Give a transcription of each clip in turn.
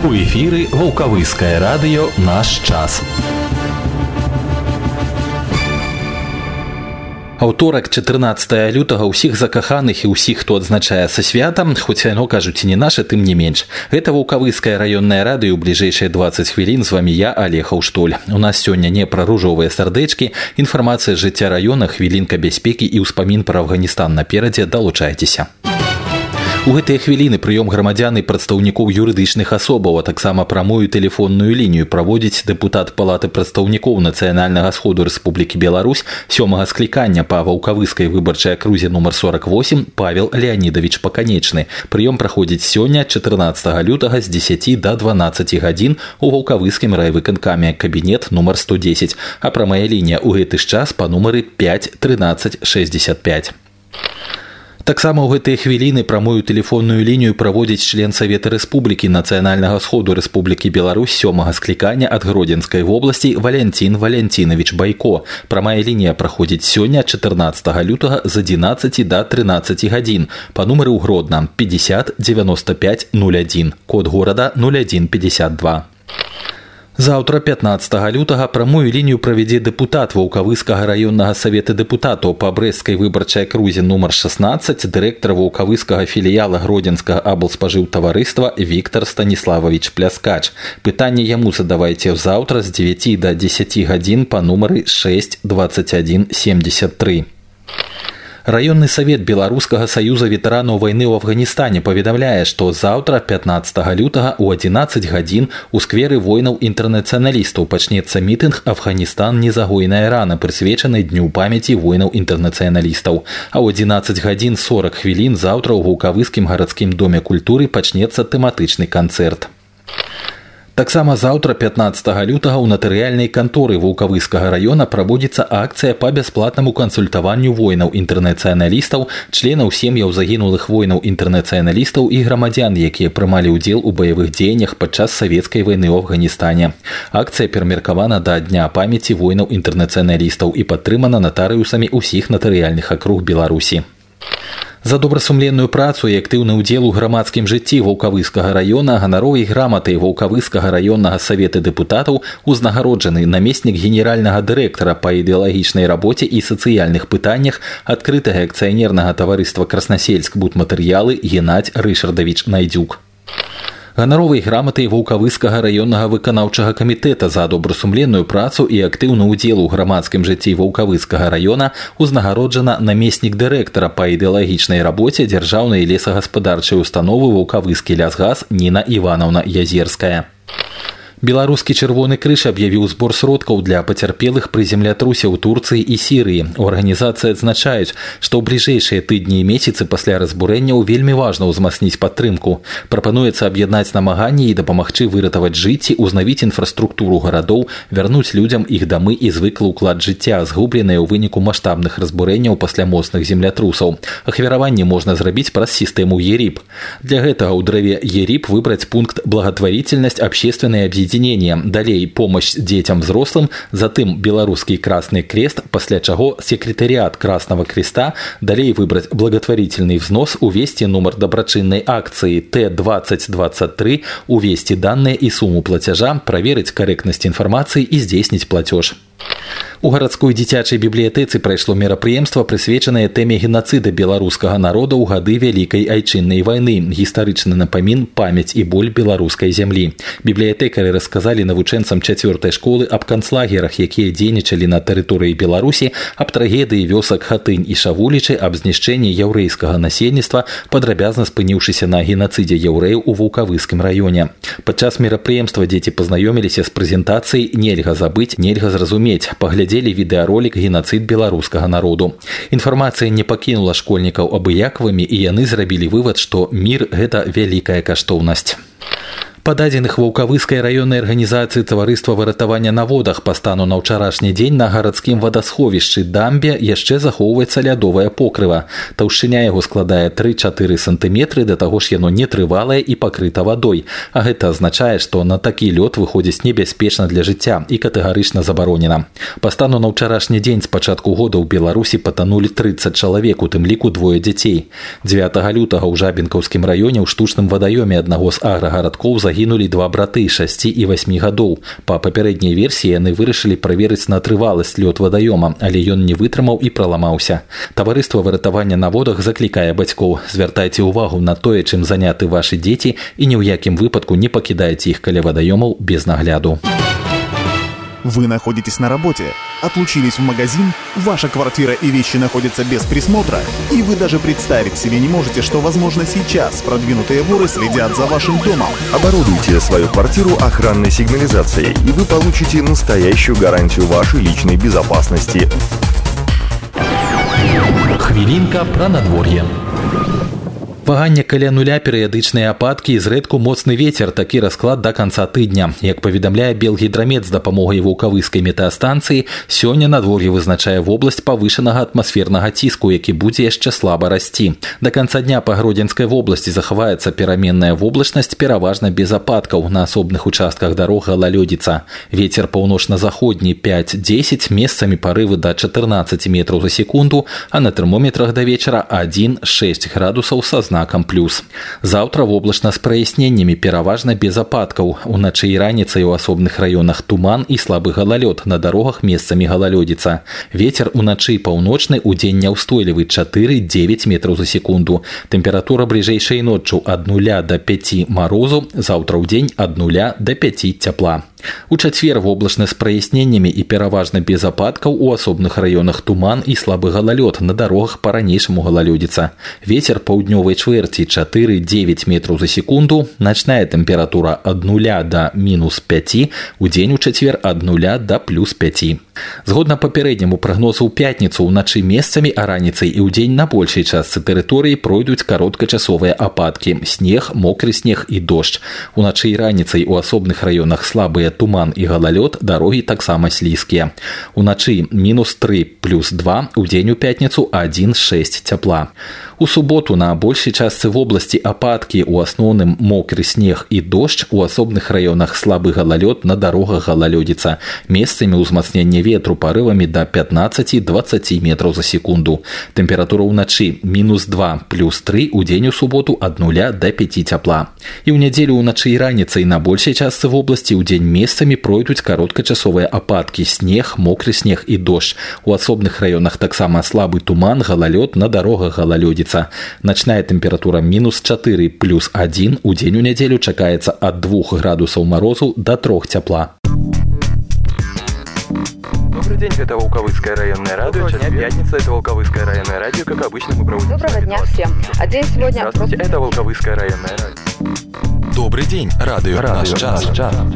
У эфіры Ваўкавыскае радыё «Наш час». Аўторак 14 лютага ўсіх закаханых і ўсіх, хто адзначае са святам, хоць яно, кажуць, і не наша, тым не менш. Гэта Ваўкавыскае раённае радыё ў бліжэйшыя 20 хвілін. З вамі я, Олег Аўштоль. У нас сёння не пра ружовыя сардэчкі, інфармацыя з жыцця раёна, хвілінка бяспекі і ўспамін пра Афганістан наперадзе. Далучайцеся. У гэтыя хвіліны прыём грамадзян і прадстаўнікоў юрыдычных асобаў, а таксама прамую тэлефонную лінію праводзіць дэпутат Палаты прадстаўнікоў Нацыянальнага сходу Рэспублікі Беларусь 7-га склікання па Ваўкавыскай выбарчай акрузе нумар 48 Павел Леонидович Паканечны. Прыём праходзіць сёння 14 лютага з 10 до 12 гадзін у Ваўкавыскім райвыканкаме, кабінет нумар 110, а прамая лінія ў гэты ж час па нумары 5 13 65. Таксама ў гэтыя хвіліны прамую тэлефонную лінію праводзіць член Савета Рэспублікі Нацыянальнага сходу Рэспублікі Беларусь 7-га склікання ад Гродзенскай вобласці Валянцін Валянцінович Байко. Прамая лінія праходзіць сёння 14 лютага з 11 до 13 гадзін па нумары ў Гродна 50 95 01, код горада 0152. Заўтра 15 лютага прамую лінію правядзе дэпутат Ваўкавыскага раённага савета дэпутатаў па Брэсцкай выбарчай акрузе нумар 16, дырэктар Ваўкавыскага філіяла Гродзенскага аблспажыўтаварыства Віктор Станіславович Пляскач. Пытанне яму задавайце заўтра з 9 до 10 гадзін па нумары 6 21 73. Раённы савет Беларускага саюза ветэранаў вайны ў Афганістане паведамляе, што заўтра 15 лютага ў 11 гадзін у скверы воінаў-інтэрнацыяналістаў пачнецца мітынг «Афганістан. Незагойная рана», прысвечаны дню памяці воінаў-інтэрнацыяналістаў. А ў 11 гадзін 40 хвілін заўтра ў Ваўкавыскім гарадскім доме культуры пачнецца тэматычны канцэрт. Таксама заўтра 15 лютага ў натарыяльнай канторы Ваўкавыскага раёна праводзіцца акцыя па бясплатнаму кансультаванню воінаў-інтэрнацыяналістаў, членаў сем'яў загінулых воінаў-інтэрнацыяналістаў і грамадзян, якія прымалі ўдзел у баявых дзеяннях падчас савецкай вайны ў Афганістане. Акцыя перамеркавана да Дня памяці воінаў-інтэрнацыяналістаў і падтрымана натарыусамі ўсіх натарыяльных акруг Беларусі. За добрасумленную працу і актыўны ўдзел у грамадскім жыцці Ваўкавыскага раёна ганаровай граматай Ваўкавыскага раённага савета дэпутатаў узнагароджаны намеснік генеральнага дырэктара па ідэалагічнай рабоце і сацыяльных пытаннях адкрытага акцыянернага таварыства «Краснасельск будматэрыялы» Геннадзь Рышардавіч Найдзюк. Ганаровай граматай Ваўкавыскага раённага выканаўчага камітэта за добрасумленную працу і актыўны ўдзел у грамадскім жыцці Ваўкавыскага раёна узнагароджана намеснік дырэктара па ідэалагічнай рабоце дзяржаўнай лесагаспадарчай установы «Ваўкавыскі лясгас» Ніна Іванаўна Язерская. Беларускі чырвоны крыж аб'явіў збор сродкаў для пацярпелых пры землятрусе ў Турцыі і Сірыі. У арганізацыі адзначаюць, што ў бліжэйшыя тыдні і месяцы пасля разбурэнняў вельмі важна ўзмацніць падтрымку. Прапануецца аб'яднаць намаганні і дапамагчы выратаваць жыцці, узнавіць інфраструктуру гарадоў, вярнуць людзям іх дамы і звыклы ўклад жыцця, згубленыя ў выніку маштабных разбурэнняў пасля моцных землятрусаў. Ахвяраванне можна зрабіць праз сістэму ЕРИП. Для гэтага ў дрэве ЕРИП выбраць пункт «Благотворительность, общественное объединение». Далей помощь детям взрослым, затым Белорусский Красный Крест, пасля чаго секретариат Красного Креста, далей выбрать благотворительный взнос, увести номер добрачыннай акции Т-2023, увести данные и сумму платежа, проверить корректность информации и здзейсніць платеж. У гарадской дзіцячай бібліятэцы прайшло мерапрыемства, прысвечанае тэме генацыда беларускага народа ў гады Вялікай айчыннай вайны, гістарычны напамін, памяць і боль беларускай зямлі. Бібліятэкары расказалі навучэнцам 4-й школы аб канцлагерах, якія дзейнічалі на тэрыторыі Беларусі, аб трагедыі вёсак Хатынь і Шавулічы, аб знішчэнні яўрэйскага насельніцтва, падрабязна спыніўшыся на генацыдзе яўрэяў у Ваўкавыскім раёне. Падчас мерапрыемства дзеці пазнаёміліся з прэзентацыяй «Нельга забыць, нельга зразумець», паглядзелі відэаролік «Генацыд беларускага народу». Інфармацыя не пакінула школьнікаў абыякавымі, і яны зрабілі вывад, што мір – гэта вялікая каштоўнасць. Па дадзеных Ваўкавыскай раённай арганізацыі таварыства выратавання на водах па стану на ўчарашні дзень на гарадскім вадасховішчы дамбе яшчэ захоўваецца лядовае покрыва. Таўшчыня яго складае 3-4 сантыметры, да таго ж яно нетрывалае і пакрыта вадой. А гэта азначае, што на такі лёд выходзіць небяспечна для жыцця і катэгарычна забаронена. Па стану на ўчарашні дзень з пачатку года ў Беларусі патанулі 30 чалавек, у тым ліку 2 дзяцей. 9 лютага ў Жабінкаўскім раёне ў штучным вадаёме аднаго з аграгарадкоў загінулі загінулі 2 браты 6 і 8 гадоў. Па папярэдняй версіі яны вырашылі праверыць на трываласць лёд вадаёма, але ён не вытрымаў і праламаўся. Таварыства выратавання на водах заклікае бацькоў: звяртайце ўвагу на тое, чым заняты вашы дзеці, і ні ў якім выпадку не пакідайце іх каля вадаёмаў без нагляду. Вы находитесь на работе, отлучились в магазин, ваша квартира и вещи находятся без присмотра, и вы даже представить себе не можете, что, возможно, сейчас продвинутые воры следят за вашим домом. Оборудуйте свою квартиру охранной сигнализацией, и вы получите настоящую гарантию вашей личной безопасности. Хвілінка пра надвор'е. Ваганне каля нуля, перыядычныя ападкі і зрэдку моцны вецер. Такі расклад да канца тыдня. Як паведамляе Белгідрамет з дапамогай вулкавыскай метэастанцыі, сёння надвор'е вызначае вобласць павышанага атмасфернага ціску, які будзе яшчэ слаба расці. Да канца дня па Гродзенскай вобласці захаваецца пераменная воблачнасць, пераважна без ападкаў. На асобных участках дарог галалёдзіца. Вецер паўночна-заходні 5-10, месцамі парывы да 14 метраў за секунду, а на тэрмометрах да вечара 1-6 градусаў са знакам плюс. Заўтра воблачна з праясненнямі, пераважна без ападкаў. Уначы і раніцай у асобных раёнах туман і слабы галалёд, на дарогах месцамі галалёдзіца. Вецер уначы паўночны, удзень няўстойлівы 4-9 метраў за секунду. Тэмпература бліжэйшай ноччу ад 0 да 5 марозу, заўтра ўдзень ад 0 да 5 цяпла. У чацвер воблачна з праясненнямі і пераважна без ападкаў, у асобных раёнах туман і слабы галалёд, на дарогах па-ранейшаму галалёдзіца. Вецер паўднёвай чвэрці 4-9 метраў за секунду, начная тэмпература ад 0 да -5, удзень у чацвер ад 0 да +5. Згодна папярэдняму прагнозу ў пятніцу, уначы месцамі, а раніцай і ўдзень на большай частцы тэрыторыі пройдуць кароткачасовыя ападкі, снег, мокры снег і дождж. Уначы і раніцай у асобных раёнах слабыя туман і галалёд, дарогі таксама слізкія. Уначы -3 +2, удзень у пятніцу 1-6 цяпла. У суботу на большай частцы вобласці ападкі, у асноўным мокры снег і дождж, у асобных раёнах слабы галалёд, на дарогах галалёдзіца. Месцамі ўзмацнення ветру парывамі да 15-20 метраў за секунду. Тэмпература ўначы -2 +3, удзень у суботу ад 0 да 5 цяпла. І ў нядзелю ўначы і раніцай на большай частцы вобласці ўдзень месцамі пройдуць кароткачасовыя ападкі, снег, мокры снег і дождж. У асобных раёнах таксама слабы туман, галалёд, на дарогах галалёдзіца. Начная тэмпература -4 +1, удзень у нядзелю чакаецца ад 2 градусаў марозу да 3 цяпла. Добрый день, это Волковыцкое районное радио. Час пятница, это Волковыцкое районное радио. Как обычно, мы проводим... Доброго дня всем. А день сегодня... Здравствуйте, это Волковыцкое районное радио. Добрый день, радио «Наш час».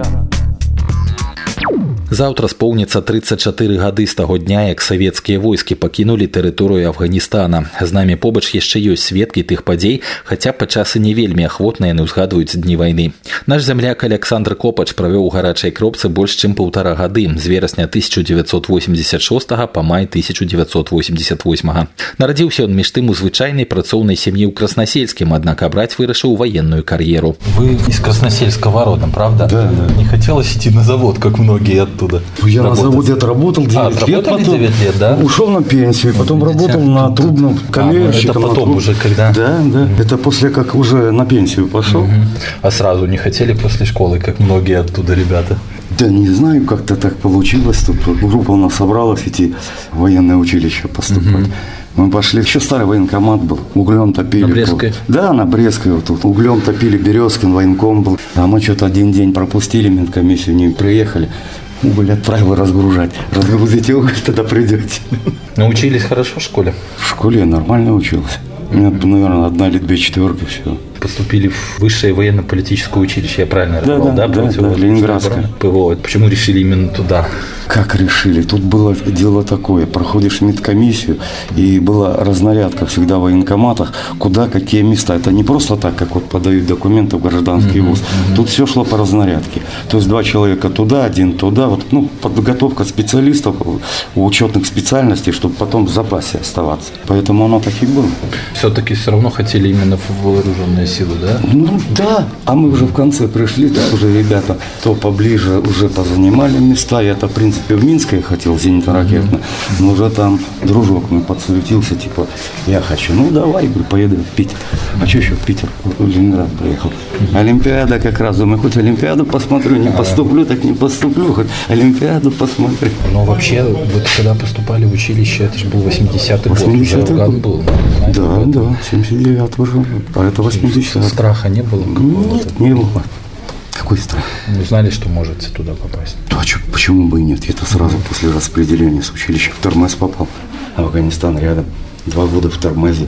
Заўтра споўніцца 34 гады з таго дня, як савецкія войскі пакінулі тэрыторыю Афганістана. З намі побач яшчэ ёсць сведкі тых падзей, хаця падчас і не вельмі ахвотна яны ўзгадваюць дні вайны. Наш зямляк Александр Копач правёў у гарачай кропцы больш чым 1,5 гады, з верасня 1986 па май 1988. Нарадзіўся ён між тым у звычайнай працоўнай сям'і ў Краснасельскім, аднак абраць вырашыў военную кар'еру. Вы из Красносельского родом, правда? Да. Не хотелось идти на завод, как многие оттуда? Я работать. На заводе отработал 9 лет, потом 9 лет, да? Ушел на пенсию, потом работал на трубном коммерчиком. Это потом уже когда? Да. Это после как уже на пенсию пошел. А сразу не хотели после школы, как многие оттуда ребята? Да не знаю, как-то так получилось. Тут группа у нас собралась идти в военное училище поступать. Мы пошли, еще старый военкомат был, углем топили. На Брестской? Да, на Брестской вот тут. Углем топили, Березкин военком был. А мы что-то один день пропустили, медкомиссию не приехали. Уголь отправил разгружать. Разгрузите уголь, тогда придете. Научились хорошо в школе? В школе я нормально учился. У меня, наверное, 1 или 2 четверки, все. Поступили в высшее военно-политическое училище, я правильно рассказал? Да, Ленинградское. ПВО. Почему решили именно туда? Как решили? Тут было дело такое. Проходишь медкомиссию, и была разнарядка всегда в военкоматах, куда, какие места. Это не просто так, как вот подают документы в гражданский вуз. Тут все шло по разнарядке. То есть 2 человека туда, 1 туда. Вот, подготовка специалистов у учетных специальностей, чтобы потом в запасе оставаться. Поэтому оно так и было. Все-таки все равно хотели именно в вооруженные силу, да? Ну да, а мы уже в конце пришли, так уже ребята то поближе уже позанимали места. Я-то, в принципе, в Минск я хотел зенитно-ракетно, но уже там дружок мой подсуетился, типа, я хочу, ну давай, говорю, поеду в Питер. А что еще в Питер? В Ленинград приехал. Олимпиада как раз, думаю, хоть Олимпиаду посмотрю, не поступлю, так не поступлю, хоть Олимпиаду посмотрю. Но вообще, вот когда поступали в училище, это же был 80-й год, уже Афган был. Да, 79-й уже, а это 80-й. Страха не было? Нет, не было. Какой страх? Вы знали, что можете туда попасть? Да, почему бы и нет? Я-то сразу после распределения с училища в Тормез попал. Афганистан рядом. 2 года в Тормезе,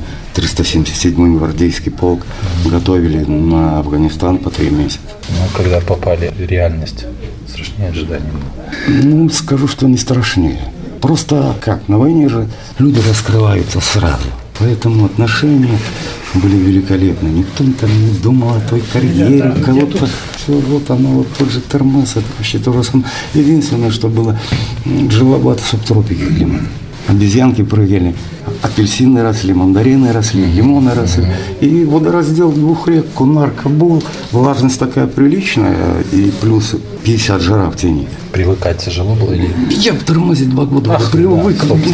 377-й гвардейский полк. Готовили на Афганистан по 3 месяца. Ну, когда попали в реальность, страшнее ожиданий было? Ну, скажу, что не страшнее. Просто как, на войне же люди раскрываются сразу. Поэтому отношения были великолепны. Никто там не думал о той карьере, кого-то. Все, вот оно, вот тот же Тормез, это вообще то же самое. Единственное, что было, Джилабад, субтропики климат. Обезьянки прыгали, апельсины росли, мандарины росли, лимоны росли. И водораздел 2 рек, Кунар, Кабул, влажность такая приличная, и плюс 50 жара в тени. Привыкать тяжело было? Или... Я в Тормозе 2 года привык.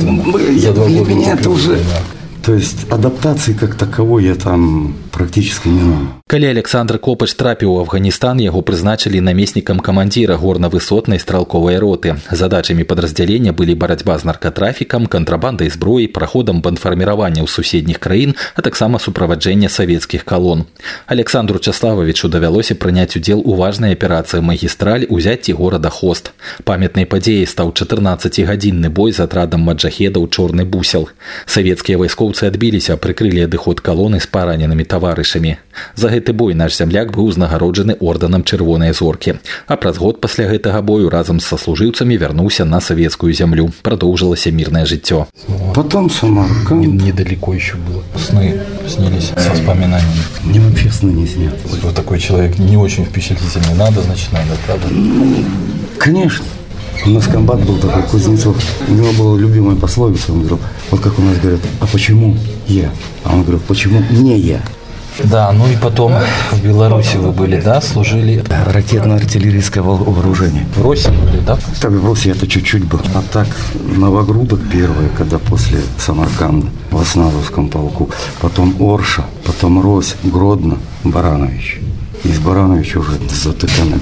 Для меня это уже... То есть адаптации как таковой я там практически не знаю. Калі Александр Копач трапіў у Афганістан, яго прызначылі намеснікам камандзіра горна-высотнай стралковай роты. Задачамі падраздзялення былі барацьба з наркатрафікам, кантрабандай зброі, праходам бандфарміравання ў суседніх краін, а таксама суправаджэння савецкіх калон. Александру Часлававічу давялося прыняць удзел у важнай аперацыі «Магістраль» узяцці горада Хост. Памятнай падзеяй стаў 14-гадзінны бой з атрадам маджахедаў «Чорны бусел». Савецкія вайскоўцы адбіліся, прыкрылі адыход калоны з параненымі таварышамі. За гэты бой наш зямляк быў узнагароджаны ордэнам Чырвонай зоркі. А праз год пасля гэтага бою разам з саслужыўцамі вярнуўся на савецкую зямлю. Прадоўжылася мирное жыццё. Потом Самарканд. Недалеко еще было. Сны снились с воспоминаниями. Мне вообще сны не снятся. Вот такой человек не очень впечатлительный. Надо, значит, надо, правда? Конечно. У нас комбат был такой, Кузнецов. У него была любимая пословица. Он говорил, вот как у нас говорят, а почему я? А он говорил, почему не я? Да, ну и потом в Беларуси вы были, да, служили? Ракетно-артиллерийское вооружение. В Росе были, да? Так, в Росе это чуть-чуть был. А так, Новогрудок первый, когда после Самарканда в Осназовском полку. Потом Орша, потом Рось, Гродно, Баранович. Из Барановича уже ЗТК на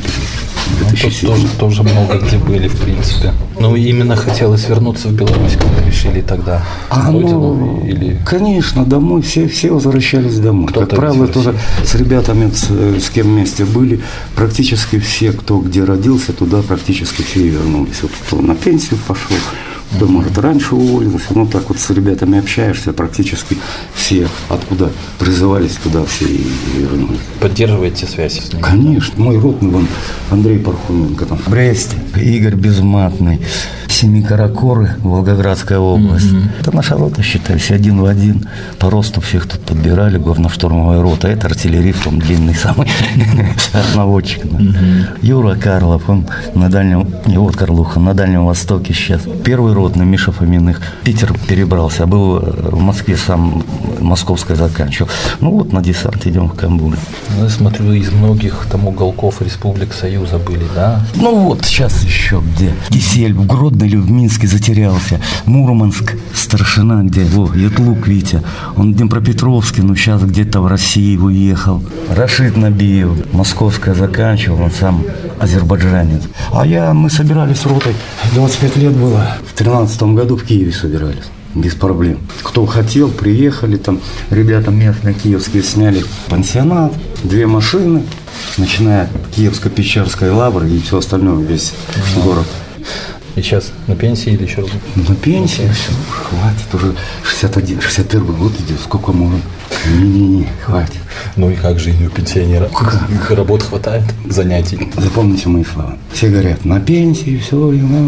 Ну, тоже много где были, в принципе. Ну, именно хотелось вернуться в Беларусь, как решили тогда. Или... Конечно, домой, все возвращались домой. Как правило, тоже с ребятами, с кем вместе были, практически все, кто где родился, туда практически все и вернулись. Вот кто на пенсию пошел, кто, может, раньше уволился. Ну, так вот с ребятами общаешься, практически все, откуда призывались, туда все и вернулись. Поддерживаете связь с ними? Конечно. Мой родный, вон, Андрей Пархуменко там в Бресте, Игорь Безматный, Семикаракоры, Волгоградская область. Это наша рота, считайся, 1 в 1. По росту всех тут подбирали, горно-штурмовая рота. Это артиллерист, он длинный самый, наводчик. Юра Карлов, он на Дальнем, не вот Карлуха, на Дальнем Востоке сейчас. Первый ротный, Миша Фоминых, Питер перебрался, был в Москве, сам московское заканчивал. Ну вот на десант идем в Камбуле. Ну, я смотрю, из многих там уголков Республик Союза были, да? Ну вот сейчас еще где. Кисель в Гродно или в Минске затерялся. Мурманск, старшина где? Ятлук Витя. Он в Днепропетровске, но сейчас где-то в России уехал. Рашид Набиев, московское заканчивал, он сам азербайджанец. А мы собирались с ротой, 25 лет было. В 2013 году в Киеве собирались. Без проблем. Кто хотел, приехали там. Ребята местные киевские сняли пансионат, 2 машины, начиная от Киевско-Печерской лавры и все остальное, весь город. И сейчас на пенсии или еще? На пенсии, все, хватит, уже 61, 61 год идет, сколько можно. Не, хватит. Ну и как жизнь у пенсионера? Работ хватает, занятий? Запомните мои слова. Все говорят, на пенсии, все.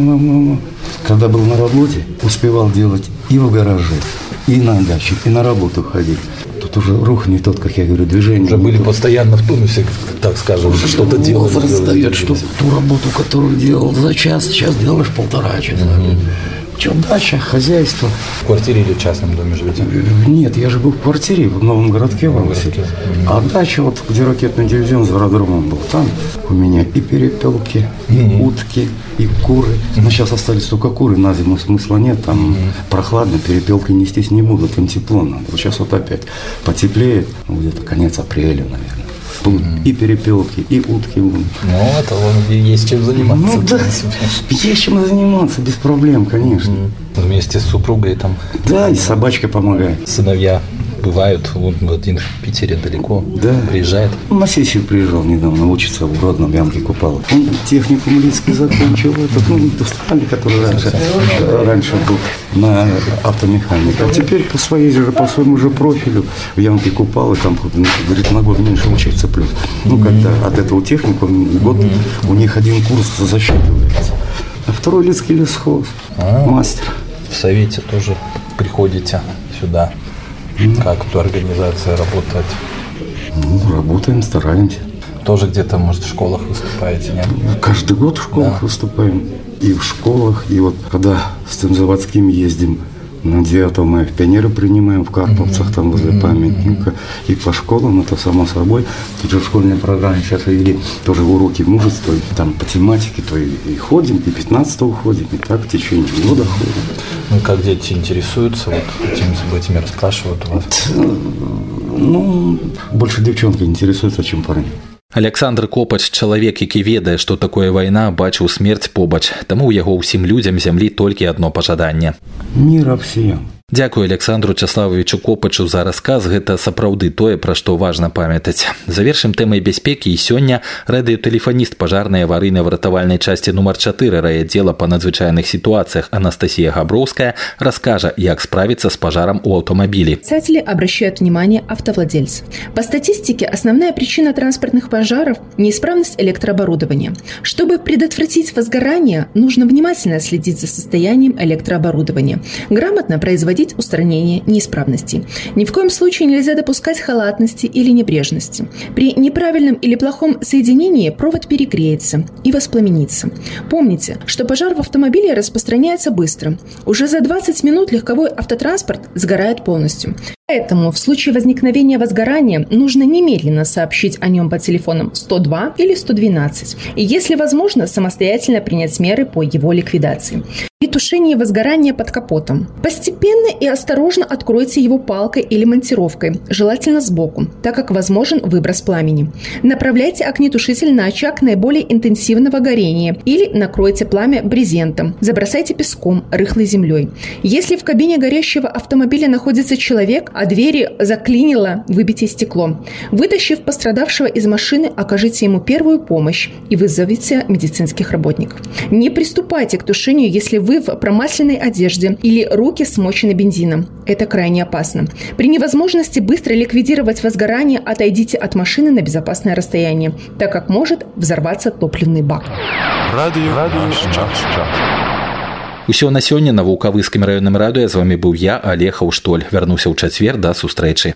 Когда был на работе, успевал делать и в гараже, и на даче, и на работу ходить. Тут уже рух не тот, как я говорю, движение. Уже были постоянно в тонусе, так скажем, что-то делали. Возраст дает, что ту работу, которую делал за час, сейчас делаешь 1,5 часа. Что, дача, хозяйство. В квартире или в частном доме живете? Нет, я живу в квартире в новом городке в Августе. А дача, вот где ракетный дивизион за аэродромом был, там у меня и перепелки, и утки, и куры. Но сейчас остались только куры, на зиму смысла нет, там прохладно, перепелки нестись не будут, им тепло надо. Вот сейчас вот опять потеплеет, где-то конец апреля, наверное. Будут и перепелки, и утки будут. Ну, это есть чем заниматься. Ну да, есть чем заниматься, без проблем, конечно. Вместе с супругой там. Да, и собачка помогает. Сыновья бывают, вот один в Питере далеко, да. Приезжает. На сессию приезжал недавно, учится в Гродном, Ямке Купала. Он техникум Лидский закончил, индустриальный, который раньше был на автомеханика. А теперь по своему же профилю в Ямке Купалы, там, говорит, на год меньше учиться плюс. Ну, когда от этого техникума год у них один курс засчитывается. А второй Лидский лесхоз, мастер. В совете тоже приходите сюда. Как тут организация работает? Ну, работаем, стараемся. Тоже где-то, может, в школах выступаете, нет? Каждый год в школах выступаем. И в школах, и вот когда с тем заводским ездим, на 9 мая в пионеры принимаем в Карповцах, там возле памятника. И по школам, это само собой. Тут же в школьной программе сейчас ввели тоже уроки мужества, там по тематике, то и ходим, и 15-го ходим, и так в течение года ходим. Ну, как дети интересуются, вот этими расспрашивают у вас? Ну, больше девчонки интересуются, чем парни. Александр Копач, чалавек, які ведае, што такое вайна, бачыў смерць побач, таму ў яго ўсім людзям зямлі толькі адно пажаданне. Мира всем. Дзякую Александру Чаславовичу Копачу за расказ, гэта сапраўды тое, пра што важна памятаць. Завершым тэмай бяспекі і сёння радыётэлефаніст пажарнай аварыйна-выратавальнай часці нумар 4 райаддзела па надзвычайных сітуацыях Анастасия Габроўская раскажа, як справиться с пожаром у автомобиля. Спасатели обращают внимание автовладельцев. По статистике, основная причина транспортных пожаров – неисправность электрооборудования. Чтобы предотвратить возгорание, нужно внимательно следить за состоянием электрооборудования, грамотно производить устранение неисправностей. Ни в коем случае нельзя допускать халатности или небрежности. При неправильном или плохом соединении провод перегреется и воспламенится. Помните, что пожар в автомобиле распространяется быстро. Уже за 20 минут легковой автотранспорт сгорает полностью. Поэтому в случае возникновения возгорания нужно немедленно сообщить о нем по телефонам 102 или 112 и, если возможно, самостоятельно принять меры по его ликвидации. При тушении возгорания под капотом постепенно и осторожно откройте его палкой или монтировкой, желательно сбоку, так как возможен выброс пламени. Направляйте огнетушитель на очаг наиболее интенсивного горения или накройте пламя брезентом, забросайте песком, рыхлой землей. Если в кабине горящего автомобиля находится человек, а двери заклинило, выбейте стекло. Вытащив пострадавшего из машины, окажите ему первую помощь и вызовите медицинских работников. Не приступайте к тушению, если вы в промасленной одежде или руки смочены бензином. Это крайне опасно. При невозможности быстро ликвидировать возгорание, отойдите от машины на безопасное расстояние, так как может взорваться топливный бак. Усё на сёння на Вулкавыскім раённым радыё. З вами быў я, Олег Хаўштоль. Вярнуся ў чацвер, да сустрэчы.